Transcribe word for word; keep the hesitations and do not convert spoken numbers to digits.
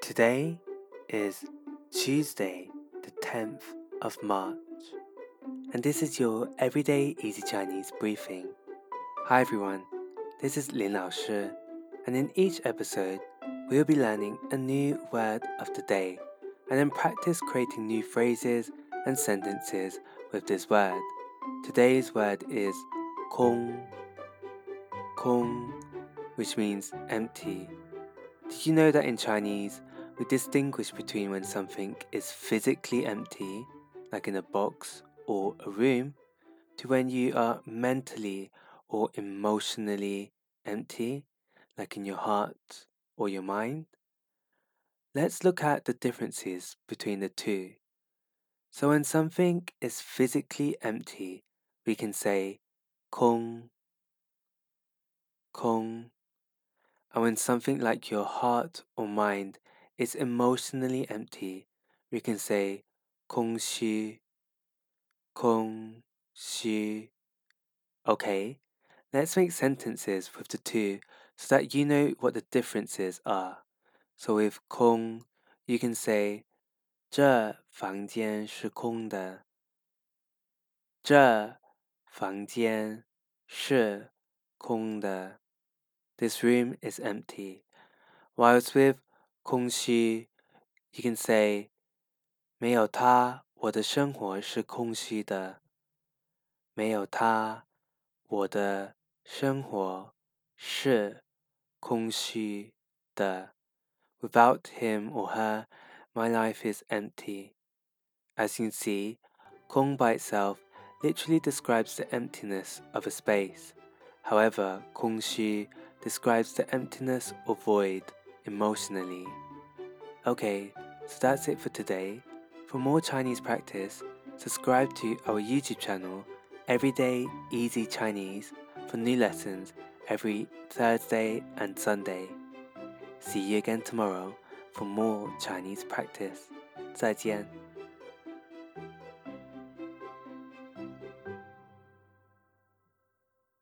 Today is Tuesday, the tenth of March, and this is your Everyday Easy Chinese briefing. Hi everyone, this is Lin Lao Shi, and in each episode, we'll be learning a new word of the day, and then practice creating new phrases and sentences with this word. Today's word is "空," "空," which means empty. Did you know that in Chinese, we distinguish between when something is physically empty, like in a box or a room, to when you are mentally or emotionally empty, like in your heart or your mind? Let's look at the differences between the two. So when something is physically empty, we can say 空, 空. And when something like your heart or mind is emotionally empty, we can say 空虚, 空虚. Okay, let's make sentences with the two so that you know what the differences are. So with 空, you can say 这房间是空的。这房间是空的。This room is empty. Whilst with 空虚, you can say 没有他，我的生活是空虚的。没有他，我的生活是空虚的。Without him or her, my life is empty. As you can see, 空 by itself literally describes the emptiness of a space. However, 空虚 describes the emptiness or void emotionally. Okay, so that's it for today. For more Chinese practice, subscribe to our YouTube channel, Everyday Easy Chinese, for new lessons every Thursday and Sunday. See you again tomorrow for more Chinese practice. 再见。